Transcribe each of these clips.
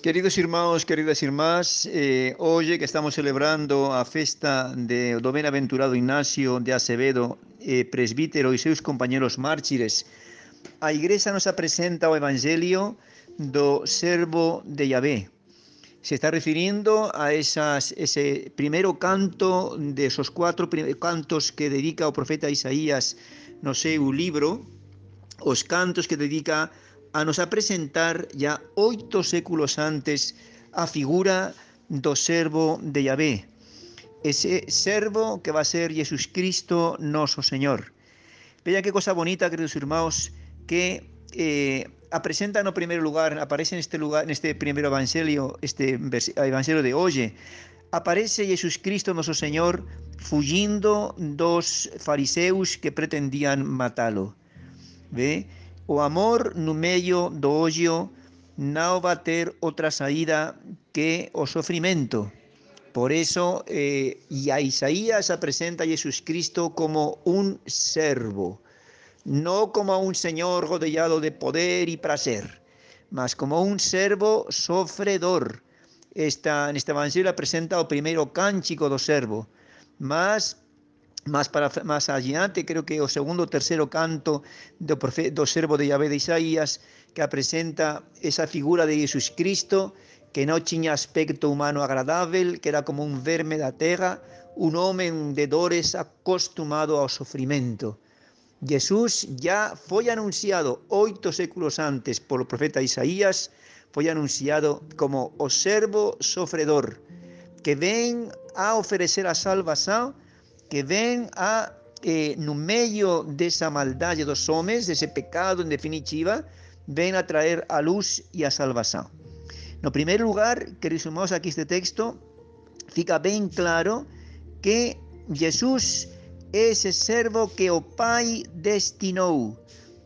Queridos irmãos, queridas irmãs, hoje que estamos celebrando a festa do bem-aventurado Ignacio de Acevedo, presbítero e seus companheiros mártires, a Igreja nos apresenta o Evangelio do servo de Yahvé. Se está refirindo a ese primeiro canto de esos cuatro cantos que dedica o profeta Isaías no seu libro, os cantos que dedica a nos apresentar ya 8 séculos antes a figura do servo de Yahvé, ese servo que va a ser Jesús Cristo noso Señor. Vean qué cosa bonita, queridos irmãos, que apresenta no primeiro lugar, aparece neste primeiro evangelio, este evangelio de hoje, aparece Jesús Cristo noso Señor fugindo dos fariseus que pretendían matá-lo. Ve? O amor no meio do odio não vai ter outra saída que o sofrimento. Por eso, a Isaías apresenta a Jesus Cristo como un servo, no como un señor rodeado de poder y placer, mas como un servo sofredor. Neste evangelho apresenta o primeiro cântico do servo, mas más adiante, creo que o segundo o terceiro canto do servo de Yahvé de Isaías, que apresenta esa figura de Jesus Cristo, que non tiña aspecto humano agradável, que era como un verme da terra, un homem de dores acostumado ao sofrimento. Jesús ya foi anunciado 8 séculos antes polo profeta Isaías, foi anunciado como o servo sofredor, que ven a oferecer a salvação, que ven no meio dessa maldade dos homens, desse pecado em definitiva, ven a traer a luz e a salvação. No primeiro lugar, queridos irmãos, aqui este texto fica bem claro que Jesus é esse servo que o Pai destinou.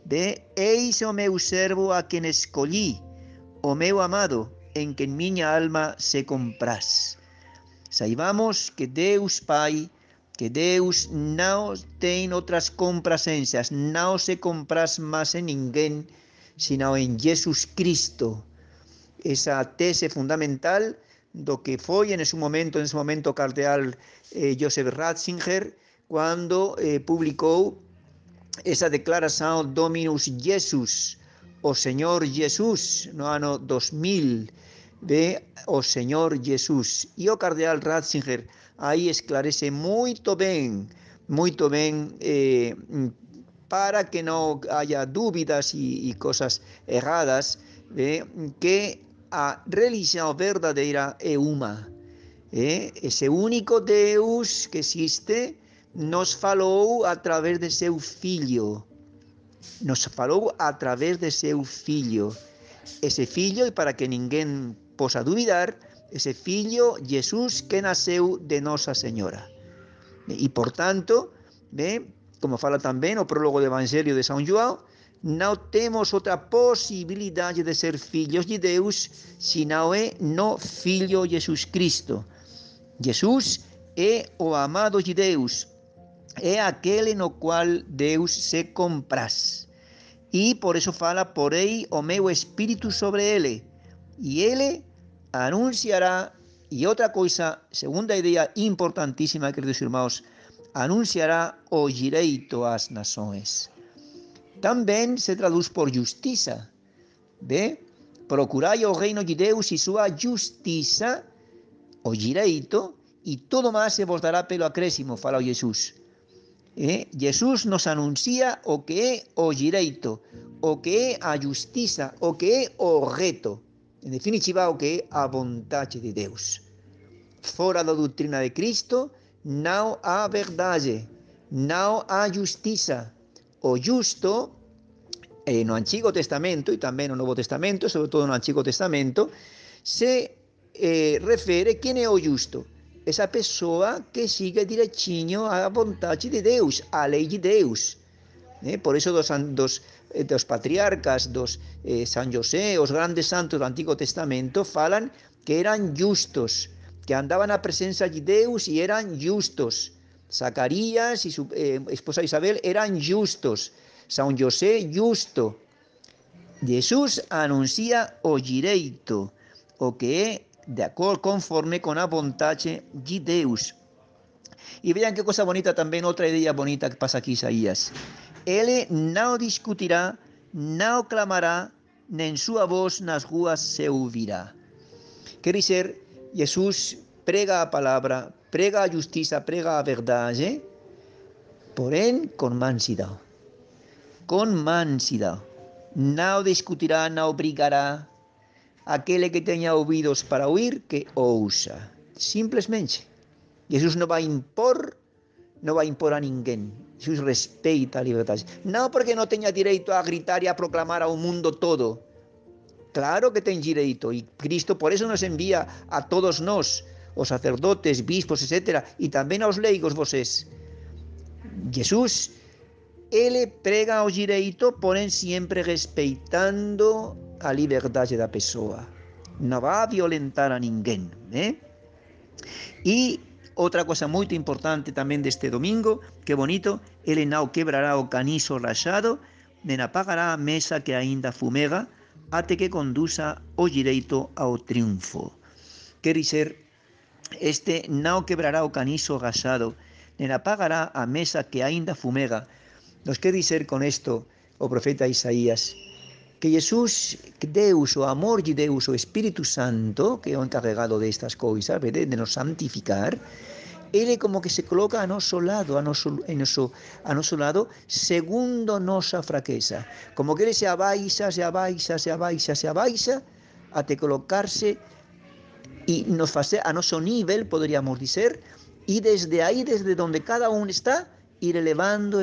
Eis o meu servo a quem escolhi, o meu amado, em quem minha alma se compraz. Saibamos que Deus Pai, que Deus não tem outras complacências, não se compraz mais em ninguém, senão em Jesus Cristo. Essa tese fundamental do que foi nesse momento o cardeal Joseph Ratzinger, quando publicou essa declaração Dominus Jesus, o Senhor Jesus, no ano 2000, o Senhor Jesus. E o cardeal Ratzinger aí esclarece muito bem, para que não haja dúvidas e coisas erradas, que a religião verdadeira é uma. Esse único Deus que existe nos falou através de seu Filho. Nos falou através de seu Filho. Esse Filho, e para que ninguém possa duvidar, esse Filho, Jesus, que nasceu de Nossa Senhora. E, portanto, como fala também o prólogo do Evangelho de São João, não temos outra possibilidade de ser filhos de Deus, senão é no Filho Jesus Cristo. Jesus é o amado de Deus, é aquele no qual Deus se compraz. E por isso fala, porei o meu Espírito sobre ele, e ele anunciará, e outra coisa, segunda ideia importantíssima, queridos irmãos, anunciará o direito às nações. Também se traduz por justiça. Procurai o reino de Deus e sua justiça, o direito, e tudo mais se vos dará pelo acréscimo, fala Jesus. Jesus nos anuncia o que é o direito, o que é a justiça, o que é o reto. En definitiva, o que é a vontade de Deus. Fora da doutrina de Cristo, não há verdade, não há justiça. O justo, no Antigo Testamento e também no Novo Testamento, sobretudo no Antigo Testamento, se refere quem é o justo. Essa pessoa que siga direitinho a vontade de Deus, a lei de Deus. Por isso dos patriarcas, São José, os grandes santos do Antigo Testamento, falam que eram justos, que andavam na presença de Deus e eram justos. Zacarias e sua esposa Isabel eram justos. São José, justo. Jesus anuncia o direito, o que é de acordo conforme con a vontade de Deus. E vean que cosa bonita tamén, outra idea bonita que pasa aquí Isaías. Ele não discutirá, não clamará, nem sua voz nas ruas se ouvirá. Quer dizer, Jesus prega a palavra, prega a justiça, prega a verdade, porém com mansidão. Com mansidão. Não discutirá, não brigará. Aquele que tenha ouvidos para ouvir, que ouça. Simplesmente. Jesus não vai impor a ninguém. Jesus respeita a liberdade. Não porque não tenha direito a gritar e a proclamar ao mundo todo. Claro que tem direito. E Cristo por isso nos envia a todos nós, os sacerdotes, bispos, etc. E também aos leigos, vocês. Jesus, ele prega o direito, porém sempre respeitando a liberdade da pessoa. Não vai violentar a ninguém. E outra coisa muito importante também deste domingo, que bonito, ele não quebrará o caniço rachado, nem apagará a mesa que ainda fumega, até que conduza o direito ao triunfo. Quer dizer, este não quebrará o caniço rachado, nem apagará a mesa que ainda fumega. Nos quer dizer con esto o profeta Isaías que Jesús, Deus, o amor de Deus, o Espírito Santo, que é o encarregado destas coisas, de nos santificar, ele como que se coloca a nosso lado, a nosso lado, segundo nossa fraqueza. Como que ele se abaixa, até colocar-se e nos fazer a nosso nível, poderíamos dizer, e desde aí, desde onde cada um está, ir elevando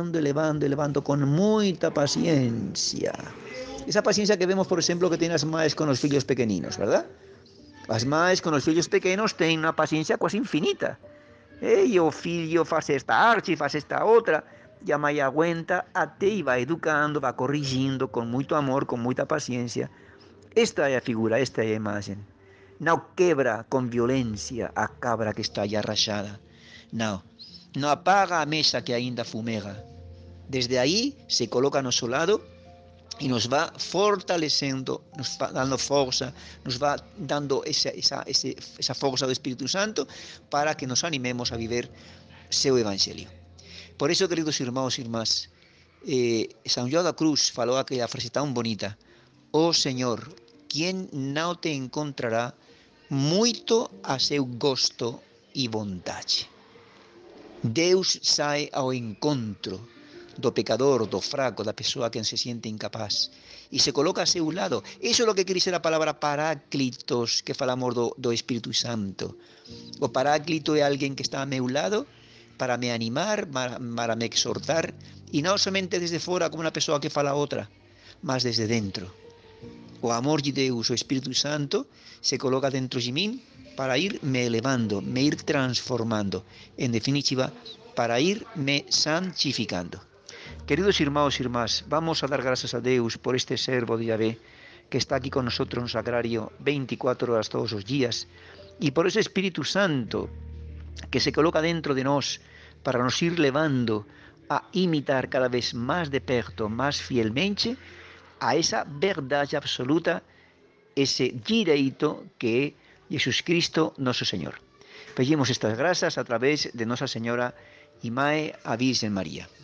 com muita paciência. Esa paciencia que vemos, por exemplo, que ten as mães con os fillos pequeninos, verdad? As mães con os fillos pequenos ten unha paciencia quase infinita. E o fillo faz esta arte, faz esta outra, e a mãe aguenta até e vai educando, vai corrigindo con moito amor, con moita paciencia. Esta é a figura, esta é a imagem. Não quebra com violência a cabra que está já rachada. Não apaga a mesa que ainda fumega. Desde aí se coloca a nosso lado e nos va fortalecendo, nos va dando força, nos va dando esa força do Espírito Santo para que nos animemos a viver seu Evangelho. Por isso, queridos irmãos e irmãs, São João da Cruz falou aquela frase tão bonita: "Oh Senhor, quem não te encontrará muito a seu gosto e vontade." Deus sai ao encontro do pecador, do fraco, da pessoa que se siente incapaz, e se coloca a seu lado. Isso é o que quer dizer a palavra Paráclitos, que falamos do Espírito Santo. O Paráclito é alguém que está a meu lado para me animar, para me exortar, e não somente desde fora como uma pessoa que fala a outra, mas desde dentro. O amor de Deus, o Espírito Santo, se coloca dentro de mim para ir me elevando, me ir transformando. En definitiva, para ir me santificando. Queridos irmãos e irmás, vamos a dar gracias a Deus por este servo de Yahvé que está aquí con nosotros no sagrario 24 horas todos os días, e por ese Espírito Santo que se coloca dentro de nós para nos ir levando a imitar cada vez más de perto, más fielmente, a esa verdade absoluta, ese direito que é Jesus Cristo, nosso Senhor. Pedimos estas graças a través de Nossa Senhora e Mãe, a Virgem Maria.